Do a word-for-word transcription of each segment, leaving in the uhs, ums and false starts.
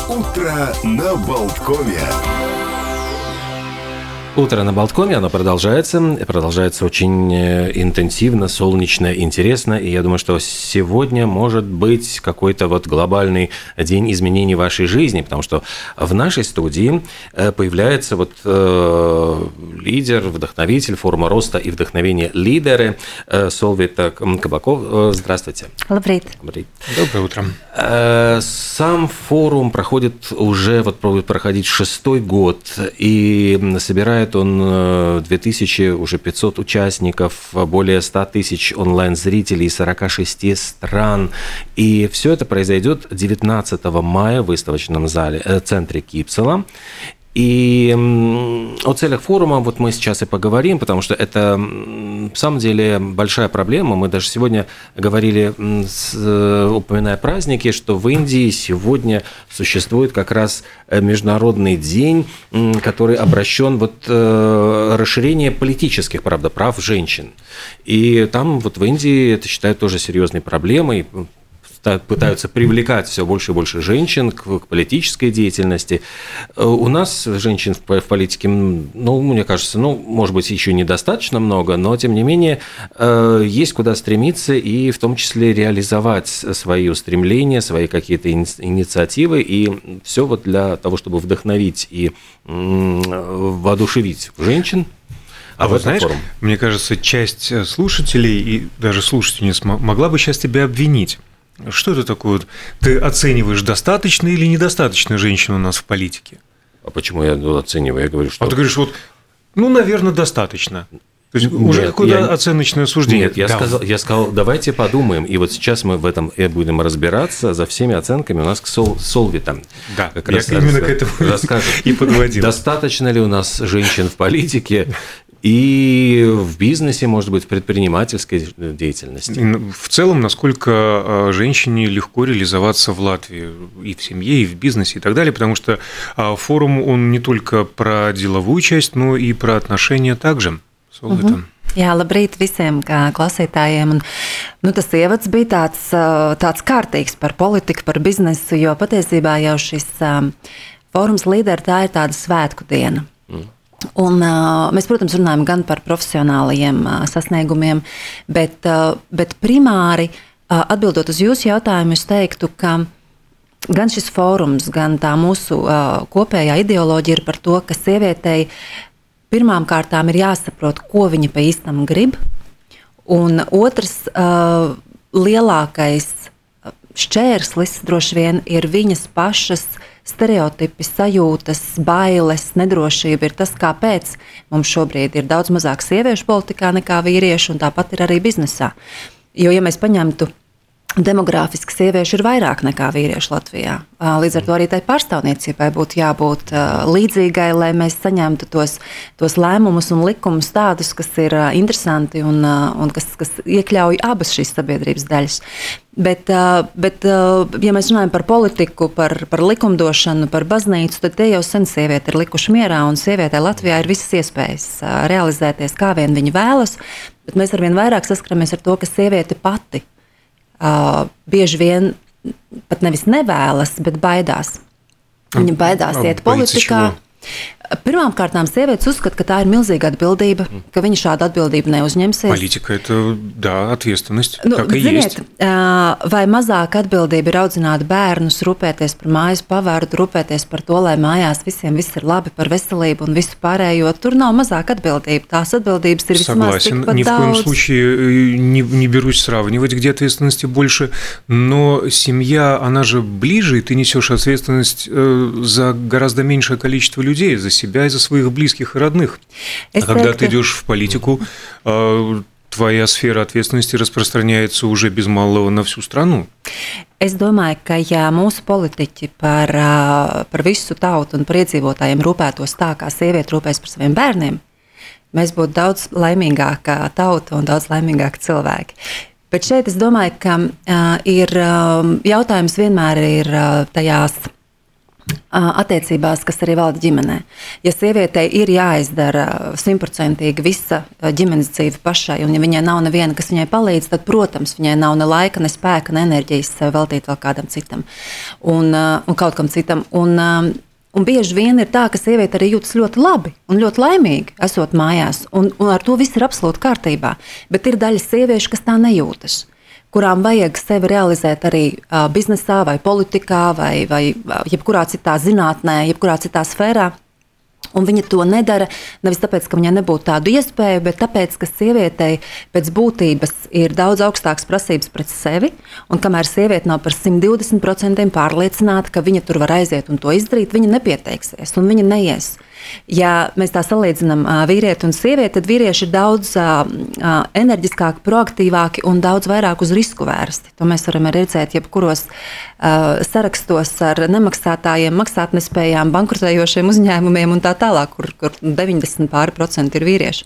Утро на Болткоме. Утро на Болткоме, оно продолжается, продолжается очень интенсивно, солнечно, интересно, и я думаю, что сегодня может быть какой-то вот глобальный день изменений вашей жизни, потому что в нашей студии появляется вот э, лидер, вдохновитель форума роста и вдохновения лидеры Солвита Кабаков. Здравствуйте. Лабрит. Лабрит. Доброе утро. Сам форум проходит уже, вот будет проходить шестой год, и собирает он две тысячи уже пятьсот участников, более ста тысяч онлайн-зрителей из сорока шести стран. И все это произойдет девятнадцатого мая в выставочном зале, э, центре Кипсела. И о целях форума вот мы сейчас и поговорим, потому что это, в самом деле, большая проблема. Мы даже сегодня говорили, упоминая праздники, что в Индии сегодня существует как раз международный день, который обращен вот расширение политических, правда, прав женщин. И там вот в Индии это считают тоже серьезной проблемой. Пытаются привлекать все больше и больше женщин к, к политической деятельности. У нас женщин в, в политике, ну, мне кажется, ну, может быть, еще недостаточно много, но, тем не менее, есть куда стремиться и в том числе реализовать свои устремления, свои какие-то инициативы, и все вот для того, чтобы вдохновить и воодушевить женщин. А, а вот знаешь, форум. Мне кажется, часть слушателей и даже слушательниц могла бы сейчас тебя обвинить. Что это такое? Ты оцениваешь, достаточно или недостаточно женщин у нас в политике? А почему я оцениваю? Я говорю, что... А ты говоришь, вот, ну, наверное, достаточно. То есть Нет, уже какое-то я... оценочное суждение. Нет, я, да. сказал, я сказал, давайте подумаем. И вот сейчас мы в этом и будем разбираться за всеми оценками. У нас к Сол, Солвитам. Да, как я раз именно раз, к этому расскажет. И подводил. Достаточно ли у нас женщин в политике? И в бизнесе, может быть, в предпринимательской деятельности. В целом, насколько женщине легко реализоваться в Латвии и в семье, и в бизнесе, и так далее, потому что форум, он не только про деловую часть, но и про отношения также. Uh-huh. Jā, labrīt visiem klausītājiem. Un, nu, tas ievads bija tāds, tāds kārtīgs par politiku, par biznesu, jo patiesībā jau šis um, fórums līderi, tā ir tāda svētku diena. Mm. Un, uh, mēs, protams, runājam gan par profesionālajiem uh, sasniegumiem, bet, uh, bet primāri, uh, atbildot uz jūsu jautājumu, es teiktu, ka gan šis fórums, gan tā mūsu uh, kopējā ideoloģija ir par to, ka sievietei pirmām kārtām ir jāsaprot, ko viņa pa īstam grib, un otrs uh, lielākais šķērslis droši vien ir viņas pašas stereotipi, sajūtas, bailes, nedrošība ir tas, kāpēc mums šobrīd ir daudz mazāk sieviešu politikā nekā vīriešu, un tāpat ir arī biznesā. Jo, ja mēs paņemtu demogrāfiski, sieviešu ir vairāk nekā vīriešu Latvijā. Līdz ar to arī tai pārstāvniecībai būtu jābūt līdzīgai, lai mēs saņemtu tos, tos lēmumus un likumus tādus, kas ir interesanti un, un kas, kas iekļauj abas šīs sabiedrības daļas. Bet, bet, ja mēs runājam par politiku, par, par likumdošanu, par baznīcu, tad te jau sen sievieti ir likuši mierā, un sievietē Latvijā ir visas iespējas realizēties, kā vien viņa vēlas, bet mēs arvien vairāk saskaramies ar to, ka sieviete pati Uh, bieži vien pat nevis nevēlas, bet baidās. Viņa baidās iet politikā. Pirmām kārtām sievietes uzskata, ka tā ir milzīga atbildība, ka viņa šādu atbildību neuzņemsies. Politika – это, да, ответственность, nu, так и ziniet, есть. Vai mazāk atbildība ir audzināt bērnus, rūpēties par mājas pavardu, rūpēties par to, lai mājās visiem viss ir labi, par veselību un visu pārējo. Tur nav mazāk atbildība. Tās atбildības ir vismaz Согласен, tikpat ни в коем daudz. случае не, не берусь сравнивать, где ответственности больше, но семья, она же ближе, и ты несешь ответственность за гораздо меньшее количество людей, за себя и за своих близких и родных. А когда ты идешь в политику, твоя сфера ответственности распространяется уже без малого на всю страну. Es domāju, ka ja mūsu politiķi par, par visu tautu un par iedzīvotājiem rūpētos tā, kā sieviete rūpēs par saviem bērniem, mēs būtu daudz laimīgāka tauta un daudz laimīgāki cilvēki. Bet šeit es domāju, ka uh, ir uh, jautājums vienmēr ir uh, tajās attiecībās, kas arī valda ģimenē. Ja sievietei ir jāizdara simtprocentīgi visa ģimenes dzīve pašai, un ja viņai nav neviena, kas viņai palīdz, tad, protams, viņai nav ne laika, ne spēka, ne enerģijas veltīt vēl kādam citam un, un kaut kam citam. Un, un bieži vien ir tā, ka sieviete arī jūtas ļoti labi un ļoti laimīgi, esot mājās, un, un ar to viss ir absolūti kārtībā. Bet ir daļa sieviešu, kas tā nejūtas, kurām vajag sevi realizēt arī uh, biznesā, vai politikā, vai, vai jebkurā citā zinātnē, jebkurā citā sfērā. Un viņa to nedara nevis tāpēc, ka viņai nebūtu tādu iespēju, bet tāpēc, ka sievietei pēc būtības ir daudz augstākas prasības pret sevi. Un kamēr sieviete nav par simt divdesmit procentiem pārliecināta, ka viņa tur var aiziet un to izdarīt, viņa nepieteiksies un viņa neies. Ja mēs tā salīdzinām vīrieti un sievieti, tad vīrieši ir daudz uh, enerģiskāki, proaktīvāki un daudz vairāk uz risku vērsti. To mēs varam redzēt jebkuros uh, sarakstos ar nemaksātājiem, maksātnespējām, bankrotējošiem uzņēmumiem un tā tālāk, kur, kur deviņdesmit pāri procenti ir vīrieši.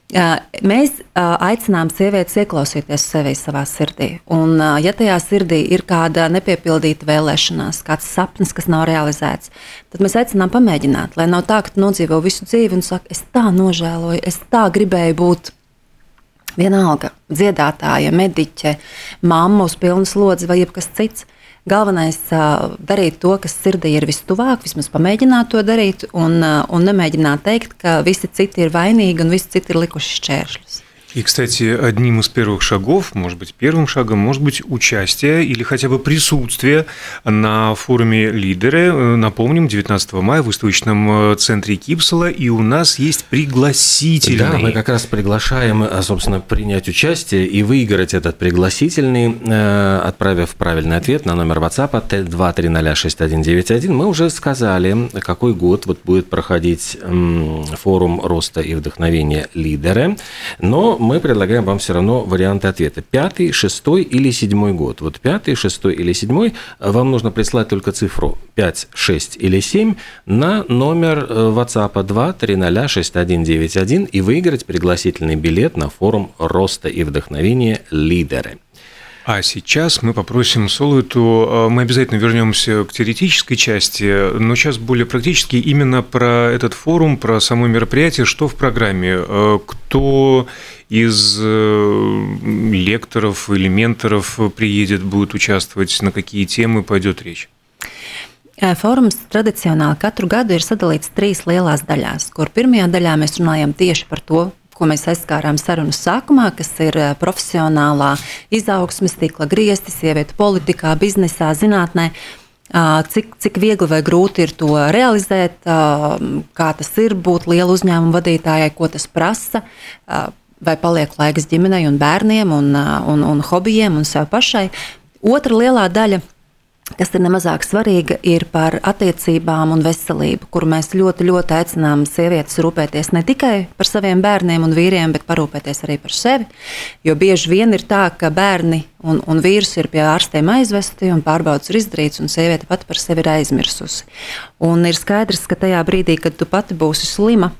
Mēs aicinām sievietes ieklausīties sevi savā sirdī. Un, ja tajā sirdī ir kāda nepiepildīta vēlēšanās, kāds sapnis, kas nav realizēts, tad mēs aicinām pamēģināt, lai nav tā, ka tu nodzīvo visu dzīvi un saka, es tā nožēloju, es tā gribēju būt vienalga, dziedātāja, mediķe, mamma uz pilnu slodzi vai jebkas cits. Galvenais uh, darīt to, kas sirdī ir vistuvāk, vismaz pamēģināt to darīt un, uh, un nemēģināt teikt, ka visi citi ir vainīgi un visi citi ir likuši šķēršļus. И, кстати, одним из первых шагов, может быть, первым шагом, может быть участие или хотя бы присутствие на форуме «Лидеры». Напомним, девятнадцатого мая в выставочном центре Кипсала, и у нас есть пригласительный. Да, мы как раз приглашаем, собственно, принять участие и выиграть этот пригласительный, отправив правильный ответ на номер WhatsApp Т два три ноль шесть один девять один. Мы уже сказали, какой год вот будет проходить форум роста и вдохновения «Лидеры», но мы предлагаем вам все равно варианты ответа. Пятый, шестой или седьмой год. Вот пятый, шестой или седьмой вам нужно прислать только цифру пять, шесть или семь на номер WhatsApp два три ноль шесть один девять один и выиграть пригласительный билет на форум роста и вдохновения «Лидеры». А сейчас мы попросим Соловету, мы обязательно вернемся к теоретической части, но сейчас более практически именно про этот форум, про само мероприятие, что в программе, кто из лекторов или менторов приедет, будет участвовать, на какие темы пойдет речь. Fórums tradicionāli katru gadu ir sadalīts trīs lielās daļās, kur pirmajā daļā mēs runājam tieši par to, ko mēs aizskārām sarunas sākumā, kas ir profesionālā izaugsmes tīkla griesti, sievietu politikā, biznesā, zinātnē. Cik, cik viegli vai grūti ir to realizēt, kā tas ir būt lielu uzņēmumu vadītājai, ko tas prasa, vai paliek laiks ģimenei un bērniem un, un, un hobijiem un sev pašai. Otra lielā daļa, kas ir nemazāk svarīga, ir par attiecībām un veselību, kur mēs ļoti, ļoti aicinām sievietes rūpēties ne tikai par saviem bērniem un vīriem, bet parūpēties arī par sevi. Jo bieži vien ir tā, ka bērni un, un vīrs ir pie ārstiem aizvesti un pārbaudas ir izdarīts, un sieviete pati par sevi ir aizmirsusi. Un ir skaidrs, ka tajā brīdī, kad tu pati būsi slima,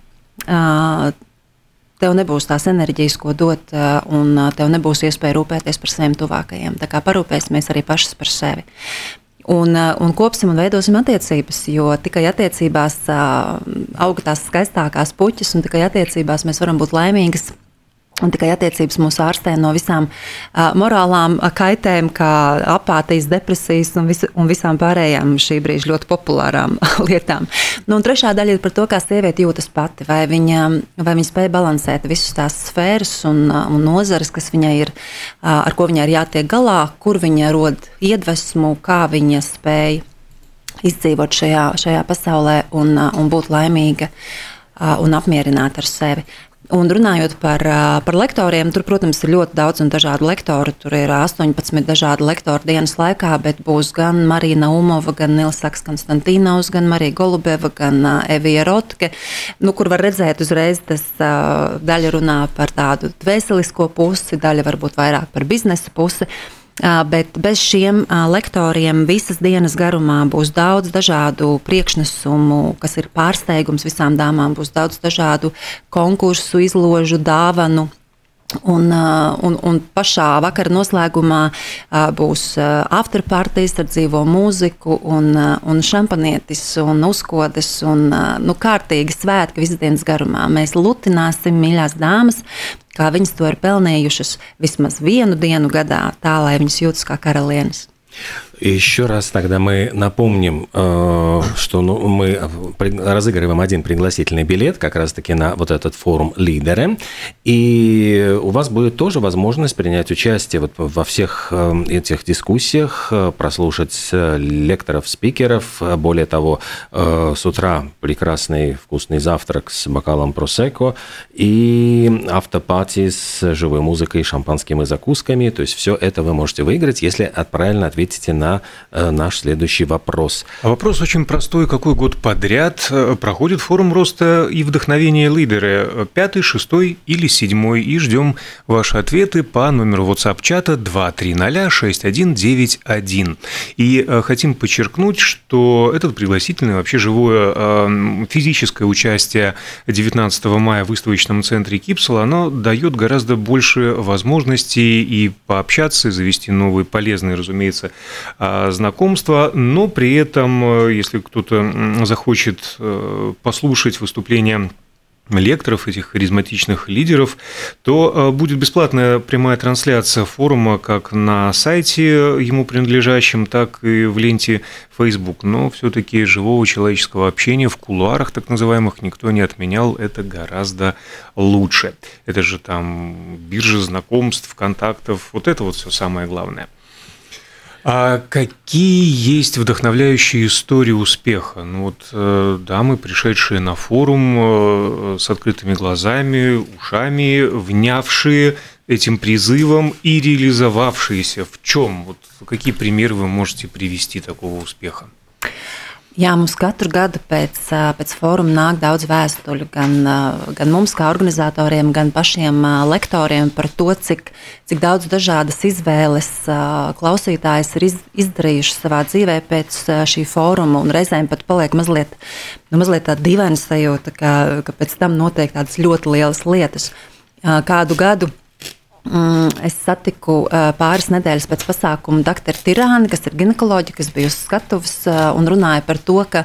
tev nebūs tās enerģijas, ko dot, un tev nebūs iespēja rūpēties par saviem tuvākajiem. Tā kā parūpēsimies arī pašas par sevi. Un, un kopsim un veidosim attiecības, jo tikai attiecībās auga tās skaistākās puķis, un tikai attiecībās mēs varam būt laimīgas. Un tikai attiecības mūs ārstē no visām uh, morālām kaitēm, kā apātijas, depresijas un, vis, un visām pārējām šī brīža ļoti populārām lietām. Nu, un trešā daļa ir par to, kā sieviete jūtas pati, vai viņa, vai viņa spēja balansēt visas tās sfēras un, un nozares, kas viņai ir, uh, ar ko viņai ir jātiek galā, kur viņa rod iedvesmu, kā viņa spēja izdzīvot šajā, šajā pasaulē un, uh, un būt laimīga uh, un apmierināta ar sevi. Un runājot par, par lektoriem, tur, protams, ir ļoti daudz un dažādu lektoru. Tur ir astoņpadsmit dažādi lektori dienas laikā, bet būs gan Marija Naumova, gan Nilsaks Konstantīnaus, gan Marija Golubeva, gan Evija Rotke, nu, kur var redzēt uzreiz, tas daļa runā par tādu dvēselisko pusi, daļa varbūt vairāk par biznesa pusi. Bet bez šiem lektoriem visas dienas garumā būs daudz dažādu priekšnesumu, kas ir pārsteigums visām dāmām, būs daudz dažādu konkursu, izložu, dāvanu, Un, un, un pašā vakara noslēgumā būs afterpartijas ar dzīvo mūziku un, un šampanietis un uzkodas un nu, kārtīgi svētki visas dienas garumā. Mēs lutināsim mīļās dāmas, kā viņas to ir pelnījušas vismaz vienu dienu gadā, tā lai viņas jūtas kā karalienes. Еще раз тогда мы напомним, что ну, мы разыгрываем один пригласительный билет как раз-таки на вот этот форум «Лидеры». И у вас будет тоже возможность принять участие вот во всех этих дискуссиях, прослушать лекторов, спикеров. Более того, с утра прекрасный вкусный завтрак с бокалом просекко и автопати с живой музыкой, шампанским и закусками. То есть все это вы можете выиграть, если правильно ответите на наш следующий вопрос. А вопрос очень простой. Какой год подряд проходит форум роста и вдохновения «Лидеры»? Пятый, шестой или седьмой? И ждем ваши ответы по номеру WhatsApp-чата два три ноль шесть один девять один. И хотим подчеркнуть, что этот пригласительный, вообще живое физическое участие девятнадцатого мая в выставочном центре Кипсула, оно дает гораздо больше возможностей и пообщаться, и завести новые полезные, разумеется, знакомства, но при этом, если кто-то захочет послушать выступления лекторов, этих харизматичных лидеров, то будет бесплатная прямая трансляция форума как на сайте ему принадлежащем, так и в ленте Facebook. Но все-таки живого человеческого общения в кулуарах, так называемых, никто не отменял. Это гораздо лучше. Это же там биржа знакомств, контактов. Вот это вот все самое главное. А какие есть вдохновляющие истории успеха? Ну вот дамы, пришедшие на форум с открытыми глазами, ушами, внявшие этим призывом и реализовавшиеся. В чем? Вот какие примеры вы можете привести такого успеха? Jā, mums katru gadu pēc, pēc fóruma nāk daudz vēstuļu gan, gan mums kā organizatoriem, gan pašiem lektoriem par to, cik, cik daudz dažādas izvēles klausītājs ir iz, izdarījuši savā dzīvē pēc šī fóruma, un reizēm pat paliek mazliet, nu, mazliet tāda dīvaina sajūta, ka, ka pēc tam notiek tādas ļoti lielas lietas. Kādu gadu es satiku pāris nedēļas pēc pasākuma doktoru Tirāni, kas ir ginekoloģija, kas bija uz skatuves un runāja par to, ka,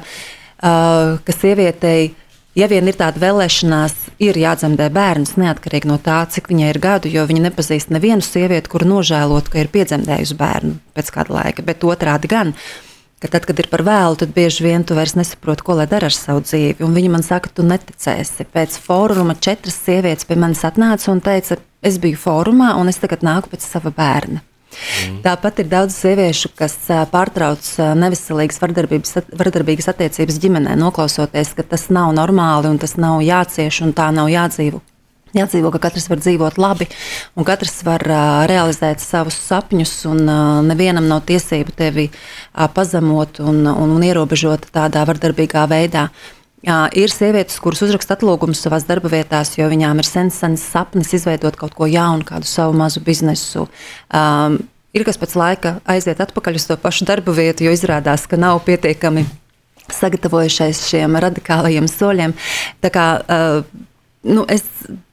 ka sievietei, ja vien ir tāda vēlēšanās, ir jādzemdē bērns neatkarīgi no tā, cik viņai ir gadu, jo viņa nepazīst nevienu sievieti, kuru nožēlot, ka ir piedzemdējusi bērnu pēc kāda laika, bet otrādi gan. Ka tad, kad ir par vēlu, tad bieži vien tu vairs nesaproti, ko lai dara ar savu dzīvi. Un viņa man saka, tu neticēsi. Pēc fóruma četras sievietes pie manis atnāca un teica, es biju fórumā un es tagad nāku pēc sava bērna. Mm. Tāpat ir daudz sieviešu, kas pārtrauc neveselīgas vardarbīgas attiecības ģimenē, noklausoties, ka tas nav normāli un tas nav jācieš un tā nav jādzīvo. Jādzīvo, ka katrs var dzīvot labi un katrs var uh, realizēt savus sapņus un uh, nevienam nav tiesību tevi uh, pazemot un, un, un ierobežot tādā vardarbīgā veidā. Uh, ir sievietes, kuras uzraksta atlūgumus savās darba vietās, jo viņām ir sens, sens sapnis izveidot kaut ko jaunu, kādu savu mazu biznesu. Um, ir kas pēc laika aiziet atpakaļ uz to pašu darba vietu, jo izrādās, ka nav pietiekami sagatavojušies šiem radikālajiem soļiem. Tā kā, uh, nu, es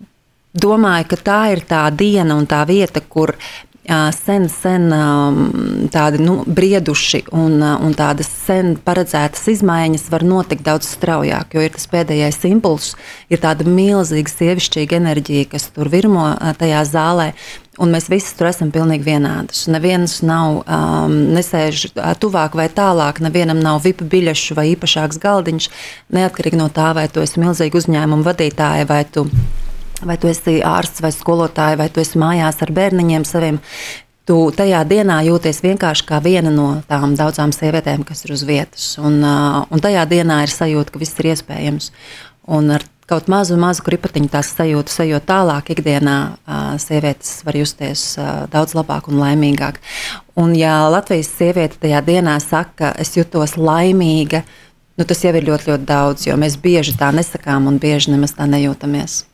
domāju, ka tā ir tā diena un tā vieta, kur uh, sen, sen um, tādi nu, brieduši un, uh, un tādas sen paredzētas izmaiņas var notikt daudz straujāk, jo ir tas pēdējais impulss, ir tāda milzīga sievišķīga enerģija, kas tur virmo uh, tajā zālē, un mēs visi tur esam pilnīgi vienādas. Neviens nav, um, nesēž uh, tuvāk vai tālāk, nevienam nav V I P biļešu vai īpašāks galdiņš, neatkarīgi no tā, vai tu esi milzīga uzņēmuma vadītāja, vai tu vai tu esi ārsts vai skolotāja, vai tu esi mājās ar bērniņiem saviem, tu tajā dienā jūties vienkārši kā viena no tām daudzām sievietēm, kas ir uz vietas. Un, un tajā dienā ir sajūta, ka viss ir iespējams. Un ar kaut mazu, mazu kripatiņu tās sajūtas, sajūt tālāk ikdienā, sievietes var justies daudz labāk un laimīgāk. Un ja Latvijas sieviete tajā dienā saka, es jutos laimīga, nu tas jau ir ļoti, ļoti daudz, jo mēs bieži tā nesakām un bieži nemaz tā nejūtamies.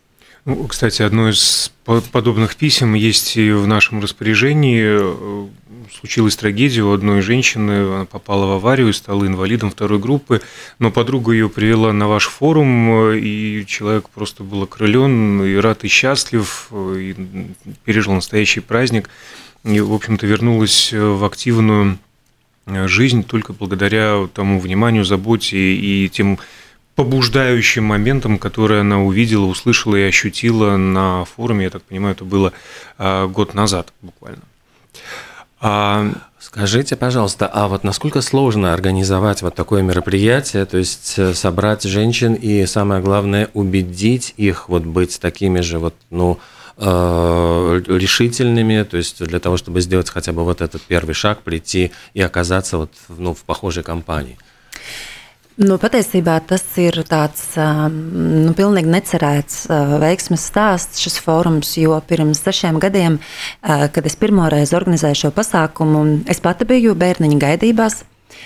Ну, кстати, одно из подобных писем есть и в нашем распоряжении. Случилась трагедия у одной женщины, она попала в аварию и стала инвалидом второй группы, но подруга ее привела на ваш форум, и человек просто был окрылен, и рад, и счастлив, и пережил настоящий праздник, и, в общем-то, вернулась в активную жизнь только благодаря тому вниманию, заботе и тем побуждающим моментам, которые она увидела, услышала и ощутила на форуме. Я так понимаю, это было год назад буквально. А... Скажите, пожалуйста, а вот насколько сложно организовать вот такое мероприятие, то есть собрать женщин и, самое главное, убедить их вот быть такими же вот, ну, решительными, то есть для того, чтобы сделать хотя бы вот этот первый шаг, прийти и оказаться вот, ну, в похожей компании? Nu, patiesībā tas ir tāds nu, pilnīgi necerēts veiksmes stāsts, šis fórums, jo pirms sešiem gadiem, kad es pirmoreiz organizēju šo pasākumu, es pati biju bērniņa gaidībās,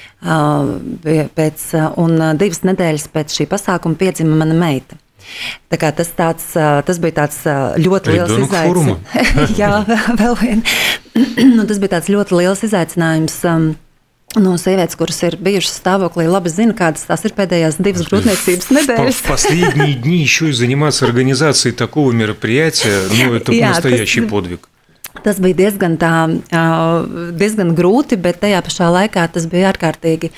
pēc, un divas nedēļas pēc šī pasākuma piedzima mana meita. Tā kā tas, tāds, tas bija tāds ļoti liels izaicinājums. Jā, vēl vien. Nu, tas bija tāds ļoti liels izaicinājums. Nu, sievietes, kuras ir bijušas stāvoklī, labi zina, kādas tās ir pēdējās divas grūtniecības nedēļas. В последние дни еще и заниматься организацией такого мероприятия, ну, это Jā, настоящий tas, подвиг. Tas bija diezgan, tā, diezgan grūti, bet tajā pašā laikā tas bija ārkārtīgi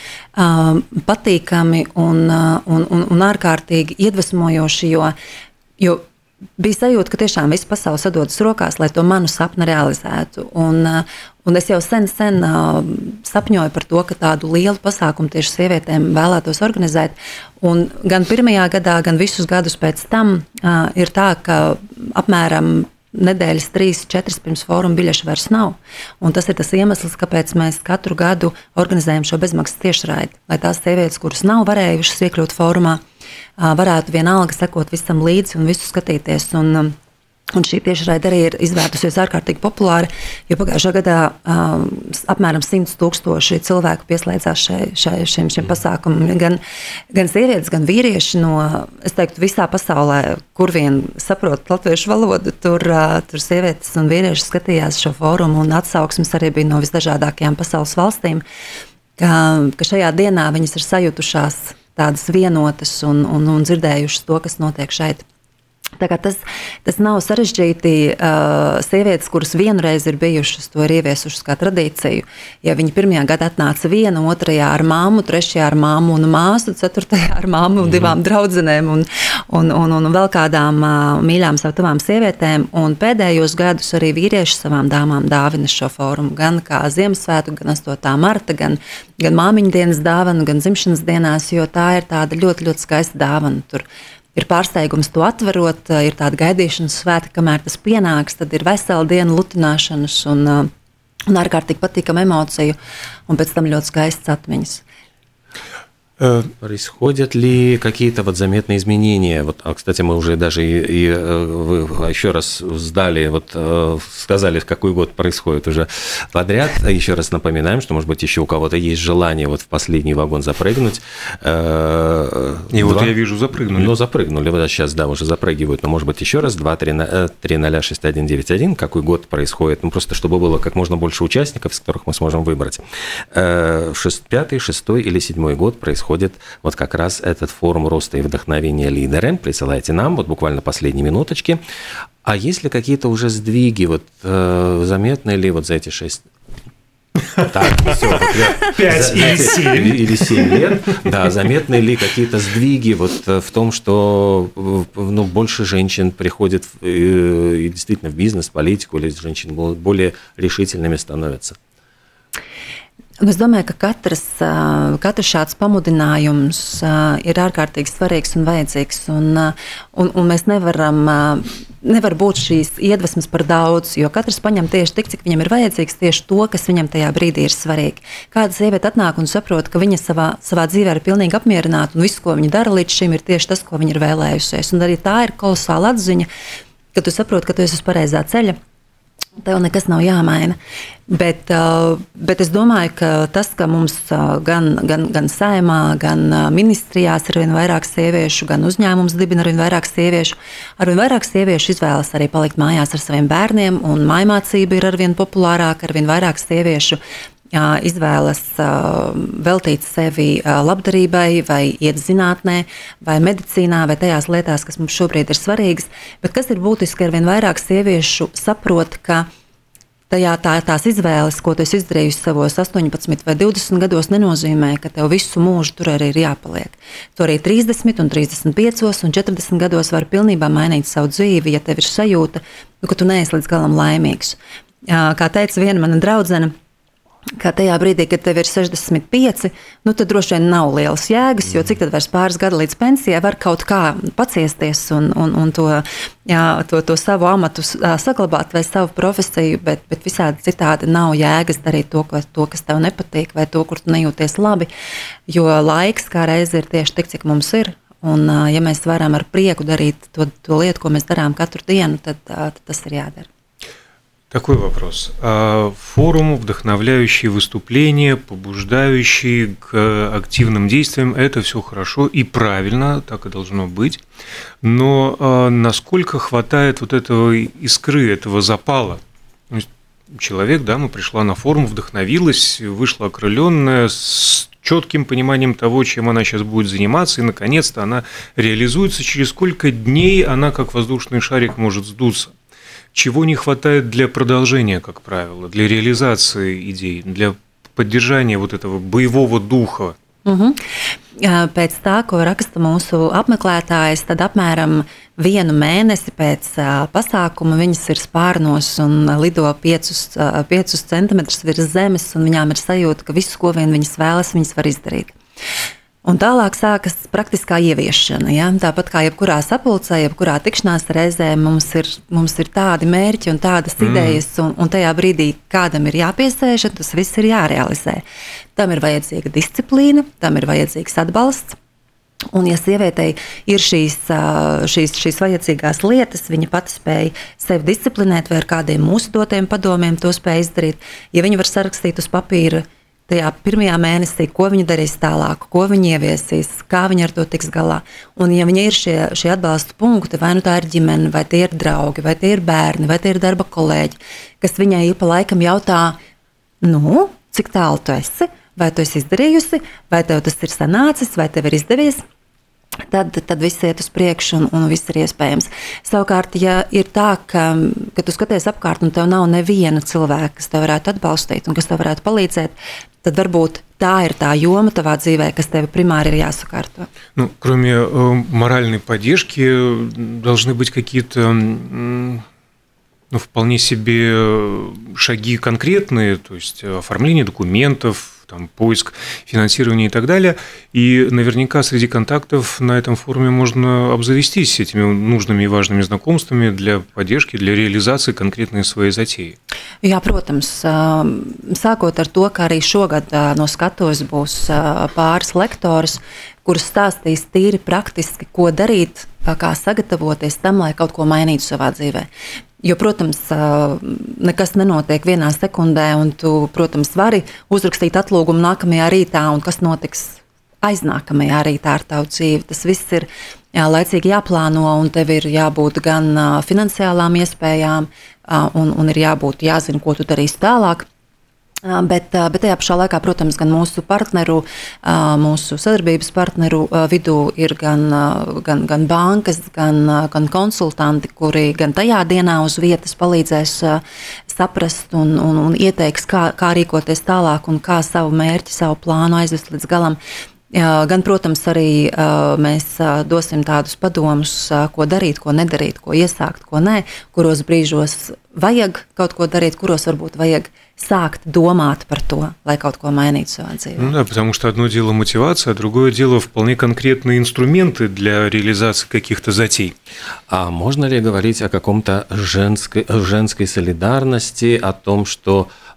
patīkami un, un, un, un ārkārtīgi iedvesmojoši, jo, jo bija sajūta, ka tiešām visa pasaule sadodas rokās, lai to manu sapni realizētu. Un, un es jau sen, sen sapņoju par to, ka tādu lielu pasākumu tieši sievietēm vēlētos organizēt. Un gan pirmajā gadā, gan visus gadus pēc tam ir tā, ka apmēram nedēļas trīs, četras pirms fóruma biļešu vairs nav. Un tas ir tas iemesls, kāpēc mēs katru gadu organizējam šo bezmaksas tiešraidi, lai tās sievietes, kuras nav varējušas iekļūt fórumā, varētu vienalga sekot visam līdzi un visu skatīties. Un, un šī tiešraide arī ir izvērtusies ārkārtīgi populāri, jo pagājušā gadā um, apmēram simts tūkstoši cilvēku pieslēdzās šai, šai, šim, šim pasākumam. Gan, gan sievietes, gan vīrieši no, es teiktu, visā pasaulē, kur vien saprot latviešu valodu, tur, uh, tur sievietes un vīrieši skatījās šo fórumu, un atsauksmes arī bija no visdažādākajām pasaules valstīm, ka, ka šajā dienā viņas ir sajutušās tādas vienotas un, un, un dzirdējušas to, kas notiek šeit. Tā kā tas, tas nav sarežģīti. Uh, sievietes, kuras vienreiz ir bijušas, to ir ieviesušas kā tradīciju. Ja viņi pirmajā gadā atnāca viena, otrajā ar māmu, trešajā ar māmu un māsu, ceturtajā ar māmu un divām draudzenēm un, un, un, un vēl kādām uh, mīļām savu tuvām sievietēm. Un pēdējos gadus arī vīrieši savām dāmām dāvina šo fórumu. Gan kā Ziemassvētku, gan astotā marta, gan, gan māmiņu dienas dāvanu, gan dzimšanas dienās, jo tā ir tāda ļoti, ļoti skaista dāvana. Tur ir pārsteigums to atverot, ir tāda gaidīšanas svēta, kamēr tas pienāks, tad ir vesela diena lutināšanas un, un ārkārtīgi patīkama emocija, un pēc tam ļoti skaistas atmiņas. Происходят ли какие-то вот заметные изменения? Вот, а, кстати, мы уже даже и, и вы еще раз сдали, вот, сказали, в какой год происходит уже подряд. Еще раз напоминаем, что, может быть, еще у кого-то есть желание вот в последний вагон запрыгнуть. И Два. Вот я вижу, запрыгнули. Ну, запрыгнули. Вот сейчас, да, уже запрыгивают. Но, может быть, еще раз. два три ноль шесть один девять один. Какой год происходит? Ну, просто чтобы было как можно больше участников, из которых мы сможем выбрать. Пятый, шестой или седьмой год происходит вот как раз этот форум роста и вдохновения лидеры. Присылайте нам, вот буквально последние минуточки. А есть ли какие-то уже сдвиги, вот э, заметны ли вот за эти шесть... Так, все, вот я, Пять за, или за, семь. Или семь лет. Да, заметны ли какие-то сдвиги вот в том, что ну, больше женщин приходит и, и действительно в бизнес, в политику, или женщины более решительными становятся? Es domāju, ka katras, katrs šāds pamudinājums ir ārkārtīgi svarīgs un vajadzīgs, un, un, un mēs nevaram, nevar būt šīs iedvesmas par daudz, jo katrs paņem tieši tik, cik viņam ir vajadzīgs, tieši to, kas viņam tajā brīdī ir svarīgi. Kāda sieviete atnāk un saprot, ka viņa savā, savā dzīvē ir pilnīgi apmierināta, un viss, ko viņa dara līdz šim, ir tieši tas, ko viņa ir vēlējusies. Un arī tā ir kolosāla atziņa, ka tu saproti, ka tu esi uz pareizā ceļa. Tev nekas nav jāmaina. Bet, bet es domāju, ka tas, ka mums gan, gan, gan saimā, gan ministrijās ir vien vairāk sieviešu, gan uzņēmums dibina ar vien vairāk sieviešu, ar vien vairāk sieviešu izvēlas arī palikt mājās ar saviem bērniem, un mājmācība ir ar vien populārāka, ar vien vairāk sieviešu izvēlas veltīt sevi labdarībai, vai iet zinātnē, vai medicīnā, vai tajās lietās, kas mums šobrīd ir svarīgas. Bet kas ir būtiski, ar vien vairāk sieviešu saprot, ka tajā tā, tās izvēles, ko tu esi izdarījusi savos astoņpadsmit vai divdesmit gados, nenozīmē, ka tev visu mūžu tur arī ir jāpaliek. Tu arī trīsdesmit, un trīsdesmit piecos un četrdesmit gados vari pilnībā mainīt savu dzīvi, ja tev ir sajūta, ka tu neesi līdz galam laimīgs. Kā teica viena mana draudzene, ka tajā brīdī, kad tev ir sešdesmit pieci, nu tad droši vien nav lielas jēgas, jo cik tad vairs pāris gadi līdz pensijai var kaut kā paciesties un, un, un to, jā, to, to savu amatu saglabāt vai savu profesiju, bet, bet visādi citādi nav jēgas darīt to, ko, to, kas tev nepatīk, vai to, kur tu nejūties labi, jo laiks kā reizi ir tieši tik, cik mums ir. Un, ja mēs varam ar prieku darīt to, to lietu, ko mēs darām katru dienu, tad, tad tas ir jādara. Такой вопрос. Форум, вдохновляющий выступления, побуждающий к активным действиям, это все хорошо и правильно, так и должно быть. Но насколько хватает вот этого искры, этого запала? Человек, да, ну, пришла на форум, вдохновилась, вышла окрыленная, с четким пониманием того, чем она сейчас будет заниматься, и наконец-то она реализуется. Через сколько дней она, как воздушный шарик, может сдуться? Чего не хватает для продолжения, как правило, для реализации идей, для поддержания вот этого боевого духа? Uh-huh. Pēc tā, ko raksta mūsu apmeklētājs, tad apmēram vienu mēnesi pēc pasākuma viņas ir spārnos un lido piecus, piecus centimetrus virs zemes, un viņām ir sajūta, ka visu, ko vien viņas vēlas, viņas var izdarīt. Un tālāk sākas praktiskā ieviešana. Ja? Tāpat kā jebkurā sapulcē, jebkurā tikšanās reizē mums ir, mums ir tādi mērķi un tādas mm. idejas, un, un tajā brīdī kādam ir jāpiesēž, tas viss ir jārealizē. Tam ir vajadzīga disciplīna, tam ir vajadzīgs atbalsts. Un, ja sievietei ir šīs, šīs, šīs vajadzīgās lietas, viņa pati spēja sevi disciplinēt vai ar kādiem mūsu dotiem padomiem to spēja izdarīt, ja viņa var sarakstīt uz papīra tajā pirmajā mēnesī, ko viņa darīs tālāk, ko viņa ieviesīs, kā viņa ar to tiks galā. Un ja viņa ir šie, šie atbalsta punkti, vai nu tā ir ģimene, vai tie ir draugi, vai tie ir bērni, vai tie ir darba kolēģi, kas viņai ik pa laikam jautā, nu, cik tālu tu esi, vai tu esi izdarījusi, vai tev tas ir sanācis, vai tev ir izdevies, tad, tad viss iet uz priekšu un, un viss ir iespējams. Savukārt, ja ir tā, ka, ka tu skaties apkārt un tev nav neviena cilvēka, kas tev varētu atbalstīt un kas tev varētu palīdzēt, tad varbūt tā ir tā joma tavā dzīvē, kas tev primāri ir jāsakārto. Ну, кроме э, моральной поддержки, должны быть какие-то э, ну, вполне себе шаги конкретные, то есть оформление документов, там, поиск финансирования и так далее. И наверняка среди контактов на этом форуме можно обзавестись этими нужными и важными знакомствами для поддержки, для реализации конкретной своей затеи. Jā, protams, sākot ar to, ka arī šogad no skatuves būs pāris lektoras, kuras stāstīs tīri praktiski, ko darīt, kā sagatavoties tam, lai kaut ko mainītu savā dzīvē. Jo, protams, nekas nenotiek vienā sekundē, un tu, protams, vari uzrakstīt atlūgumu nākamajā rītā, un kas notiks aiznākamajā rītā ar tavu dzīvi. Tas viss ir jā, laicīgi jāplāno, un tev ir jābūt gan finansiālām iespējām, un, un ir jābūt jāzina, ko tu darīsi tālāk. Bet, bet tajā pašā laikā, protams, gan mūsu partneru, mūsu sadarbības partneru vidū ir gan, gan, gan bankas, gan, gan konsultanti, kuri gan tajā dienā uz vietas palīdzēs saprast un, un, un ieteiks, kā, kā rīkoties tālāk un kā savu mērķi, savu plānu aizvest līdz galam. Gan, protams, arī mēs dosim tādus padomus, ko darīt, ko nedarīt, ko iesākt, ko nē, kuros brīžos vajag kaut ko darīt, kuros varbūt vajag сакт думать про то, lai kaut ko mainītu savā dzīvē. Ну да, потому что одно дело мотивация, а другое дело вполне конкретные инструменты для реализации каких-то затей. А можно ли говорить о каком-то женской, женской солидарности, о том, что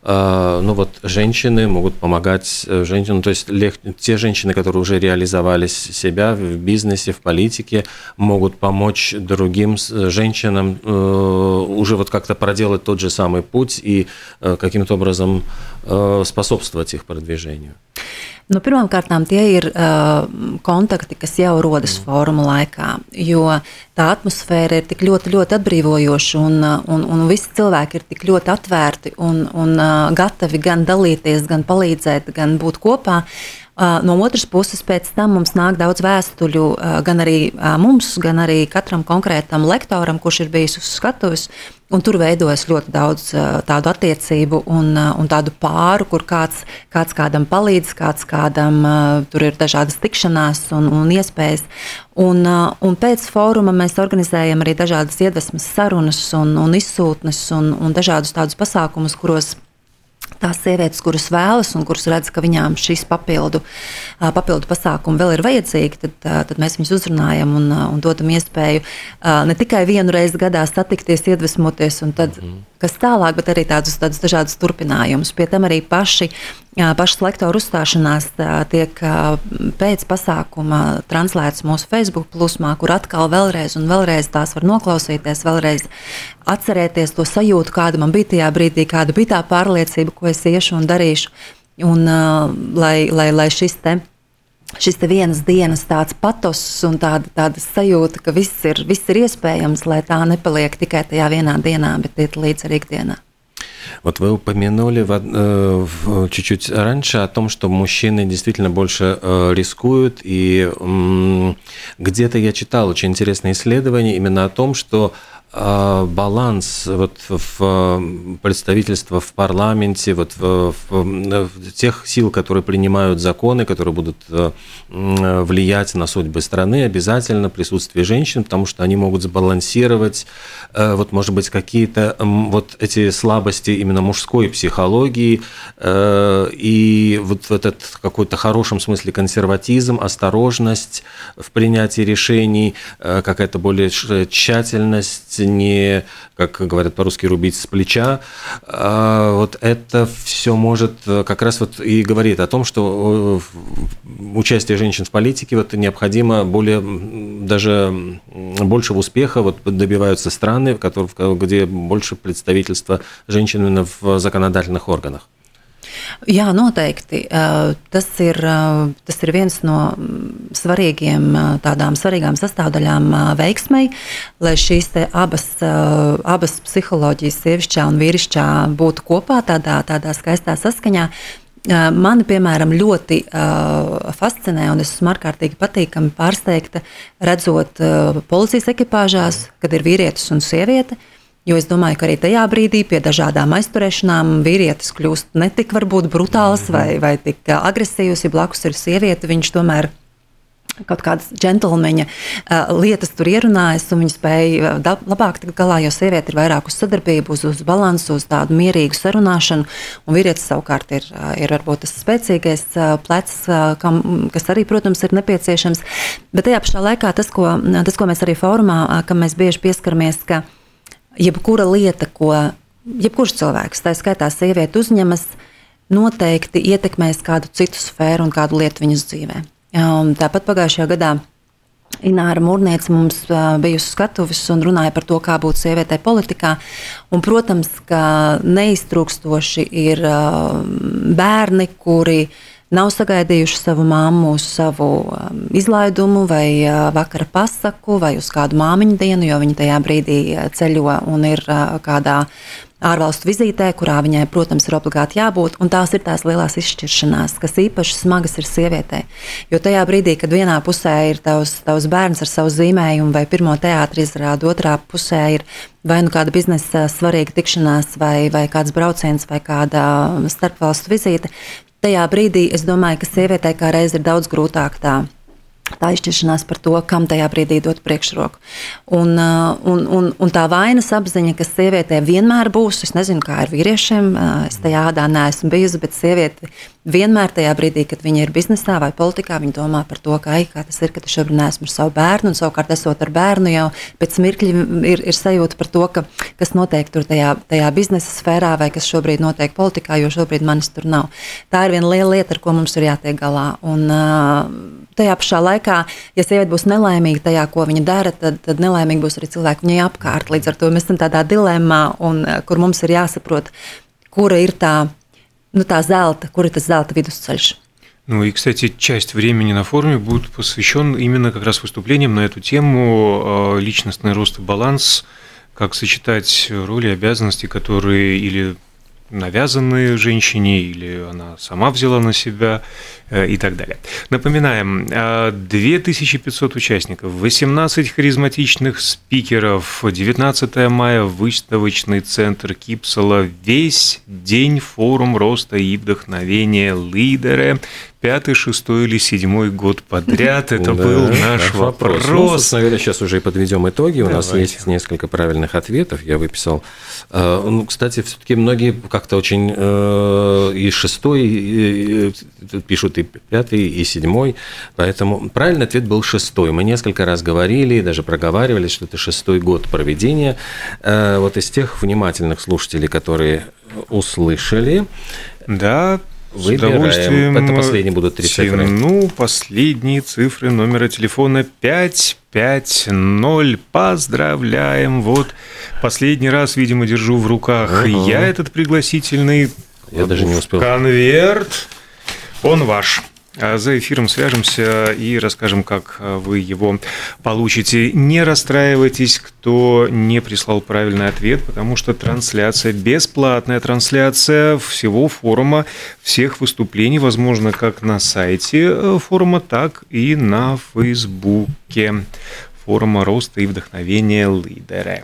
ну вот женщины могут помогать женщинам, то есть те женщины, которые уже реализовали себя в бизнесе, в политике, могут помочь другим женщинам уже вот как-то проделать тот же самый путь и каким-то образом способствовать их продвижению. Nu, pirmkārt, tie ir uh, kontakti, kas jau rodas fóruma laikā, jo tā atmosfēra ir tik ļoti, ļoti atbrīvojoša, un, un, un visi cilvēki ir tik ļoti atvērti un, un uh, gatavi gan dalīties, gan palīdzēt, gan būt kopā. Uh, no otras puses, pēc tam mums nāk daudz vēstuļu uh, gan arī uh, mums, gan arī katram konkrētam lektoram, kurš ir bijis uz skatuves. Un tur veidojas ļoti daudz uh, tādu attiecību un, uh, un tādu pāru, kur kāds, kāds kādam palīdz, kāds kādam uh, tur ir dažādas tikšanās un, un iespējas. Un, uh, un pēc fóruma mēs organizējam arī dažādas iedvesmas sarunas un, un izsūtnes un, un dažādus tādus pasākumus, kuros tās sievietes, kuras vēlas un kuras redz, ka viņām šis papildu, papildu pasākumi vēl ir vajadzīgi, tad, tad mēs viņus uzrunājam un, un dodam iespēju ne tikai vienu reizi gadā satikties, iedvesmoties un tad kas tālāk, bet arī tādus, tādus dažādus turpinājumus. Pie tam arī paši, pašas lektoru uzstāšanās tiek pēc pasākuma translētas mūsu Facebook plūsmā, kur atkal vēlreiz un vēlreiz tās var noklausīties, vēlreiz atcerēties to sajūtu, kāda man bija tajā brīdī, kāda bija tā pārliecība, ko es iešu un darīšu. Un lai, lai, lai šis te Šis te vienas dienas tāds patos un tāda, tāda sajūta, ka viss ir, viss ir iespējams, lai tā nepaliek tikai tajā vienā dienā, bet iet līdz arī ikdienā. Вот вы упомянули в, в, чуть-чуть раньше о том, что мужчины действительно больше э, рискуют, и э, где-то я читал очень интересное исследование именно о том, что баланс вот в представительство в парламенте, вот в, в, в тех сил, которые принимают законы, которые будут влиять на судьбы страны, обязательно присутствие женщин, потому что они могут сбалансировать, вот, может быть, какие-то вот эти слабости именно мужской психологии и вот этот какой-то хорошем смысле консерватизм, осторожность в принятии решений, какая-то более тщательность, не, как говорят по-русски, рубить с плеча. Вот это все может как раз вот и говорит о том, что участие женщин в политике вот необходимо более, даже большего успеха вот добиваются страны, в которых, где больше представительства женщин именно в законодательных органах. Jā, noteikti. Tas ir, tas ir viens no svarīgiem, tādām svarīgām sastāvdaļām veiksmei, lai šīs te abas, abas psiholoģijas, sievišķā un vīrišķā, būtu kopā tādā, tādā skaistā saskaņā. Mani, piemēram, ļoti uh, fascinē un es esmu ārkārtīgi patīkami pārsteigta, redzot uh, policijas ekipāžās, kad ir vīrietis un sieviete. Jo es domāju, ka arī tajā brīdī pie dažādām aizturēšanām vīrietis kļūst ne tik varbūt brutāls vai, vai tik agresīvs, ja blakus ir sieviete, viņš tomēr kaut kādas džentlmeņa uh, lietas tur ierunājas un viņi spēja uh, labāk tikt galā, jo sieviete ir vairāk uz sadarbību, uz, uz balansu, uz tādu mierīgu sarunāšanu, un vīrietis savukārt ir, uh, ir varbūt tas spēcīgais uh, plecs, uh, kam, kas arī, protams, ir nepieciešams. Bet tajā pašā laikā tas, ko, tas, ko mēs arī fórumā, uh, kam mēs bieži pieskaramies, ka jebkura lieta, ko jebkurš cilvēks, tā skaitā sieviete uzņemas, noteikti ietekmēs kādu citu sfēru un kādu lietu viņas dzīvē. Tāpat pagājušajā gadā Ināra Mūrniece mums bija uz skatuves un runāja par to, kā būt sievietei politikā. Un, protams, ka neiztrūkstoši ir bērni, kuri nav sagaidījuši savu mammu uz savu um, izlaidumu vai uh, vakara pasaku vai uz kādu māmiņu dienu, jo viņa tajā brīdī ceļo un ir uh, kādā ārvalstu vizītē, kurā viņai, protams, ir obligāti jābūt, un tās ir tās lielās izšķiršanās, kas īpaši smagas ir sievietei. Jo tajā brīdī, kad vienā pusē ir tavs, tavs bērns ar savu zīmējumu vai pirmo teātri izrādu, otrā pusē ir vai nu kāda biznesa svarīga tikšanās vai, vai kāds brauciens vai kāda starpvalstu vizīte, tajā brīdī es domāju, ka sievietei kā reiz ir daudz grūtāk tā tā izšķiršanās par to, kam tajā brīdī dot priekšroku. Un, un, un, un tā vainas apziņa, kas sievietē vienmēr būs, es nezinu, kā ir vīriešiem, es tajā ādā neesmu bijusi, bet sieviete vienmēr tajā brīdī, kad viņa ir biznesā vai politikā, viņa domā par to, ka, ai, kā tas ir, ka tu šobrīd neesmu ar savu bērnu, un savukārt esot ar bērnu jau pēc mirkļa ir, ir sajūta par to, ka, kas notiek tur tajā, tajā biznesa sfērā vai kas šobrīd notiek politikā, jo šobrīd manis tur nav. Tā ir viena liela lieta, ar ko mums ir jātiek galā. Un, tajā pašā laikā, ja sieviete būs nelaimīga tajā, ko viņa dara, tad, tad nelaimīgi būs arī cilvēki viņai apkārt. Līdz ar to mēs esam tādā dilemmā, un, kur mums ir jāsaprot, kura ir tā, ну, та золото, кур это золото видусцельш. Ну и, кстати, часть времени на форуме будет посвящен именно как раз выступлениям на эту тему личностный рост и баланс, как сочетать роли и обязанности, которые или навязанные женщине, или она сама взяла на себя и так далее. Напоминаем, две тысячи пятьсот участников, восемнадцать харизматичных спикеров, девятнадцатое мая, выставочный центр Кипсала, весь день форум роста и вдохновения лидеры. Пятый, шестой или седьмой год подряд. Это да, был наш вопрос. вопрос. Ну, наверное, сейчас уже и подведем итоги. Давайте. У нас есть несколько правильных ответов. Я выписал. Ну, кстати, все-таки многие как-то очень и шестой и пишут, и пятый, и седьмой. Поэтому правильный ответ был шестой. Мы несколько раз говорили, даже проговаривали, что это шестой год проведения. Вот из тех внимательных слушателей, которые услышали. Да. Выбираем. Это последние будут три цифры. Ну, последние цифры номера телефона пять пять ноль. Поздравляем. Вот последний раз, видимо, держу в руках uh-huh. я этот пригласительный я даже не успел. конверт. Он ваш. За эфиром свяжемся и расскажем, как вы его получите. Не расстраивайтесь, кто не прислал правильный ответ, потому что трансляция, бесплатная трансляция всего форума, всех выступлений, возможно, как на сайте форума, так и на Фейсбуке форума роста и вдохновения лидеры.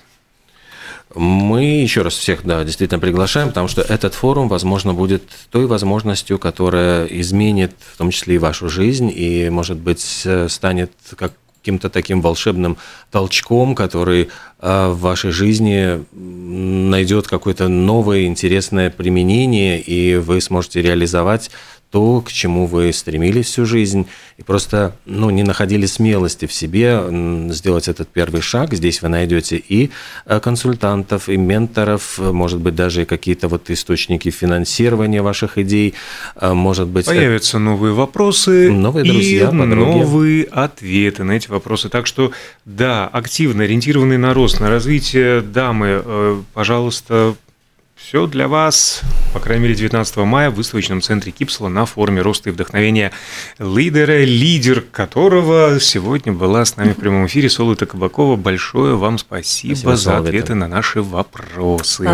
Мы еще раз всех, да, действительно приглашаем, потому что этот форум, возможно, будет той возможностью, которая изменит в том числе и вашу жизнь, и, может быть, станет каким-то таким волшебным толчком, который в вашей жизни найдет какое-то новое интересное применение, и вы сможете реализовать то, к чему вы стремились всю жизнь, и просто ну, не находили смелости в себе сделать этот первый шаг. Здесь вы найдете и консультантов, и менторов, может быть, даже и какие-то вот источники финансирования ваших идей. Может быть, появятся новые вопросы, новые друзья, и подруги. Новые ответы на эти вопросы. Так что, да, активно ориентированный на рост, на развитие дамы, пожалуйста, все для вас, по крайней мере, девятнадцатого мая в выставочном центре Кипсала на форуме роста и вдохновения лидера, лидер которого сегодня была с нами в прямом эфире, Солита Кабакова. Большое вам спасибо, спасибо за ответы на наши вопросы.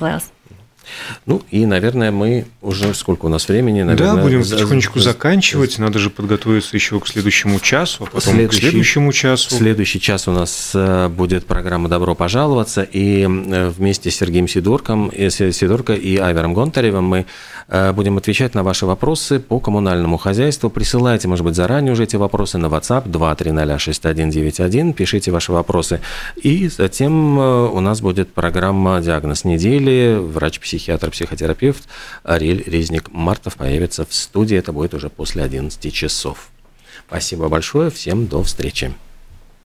Ну и, наверное, мы уже, сколько у нас времени, наверное... Да, будем потихонечку за... заканчивать, надо же подготовиться еще к следующему часу, а потом следующий, к следующему часу. Следующий час у нас будет программа «Добро пожаловаться», и вместе с Сергеем Сидорком, Сидорко и Айвером Гонтаревым мы будем отвечать на ваши вопросы по коммунальному хозяйству. Присылайте, может быть, заранее уже эти вопросы на WhatsApp два три ноль шесть один девять один, пишите ваши вопросы, и затем у нас будет программа «Диагноз недели», врач-психиатр, психотерапевт Ариэль Резник-Мартов появится в студии. Это будет уже после одиннадцати часов. Спасибо большое. Всем до встречи.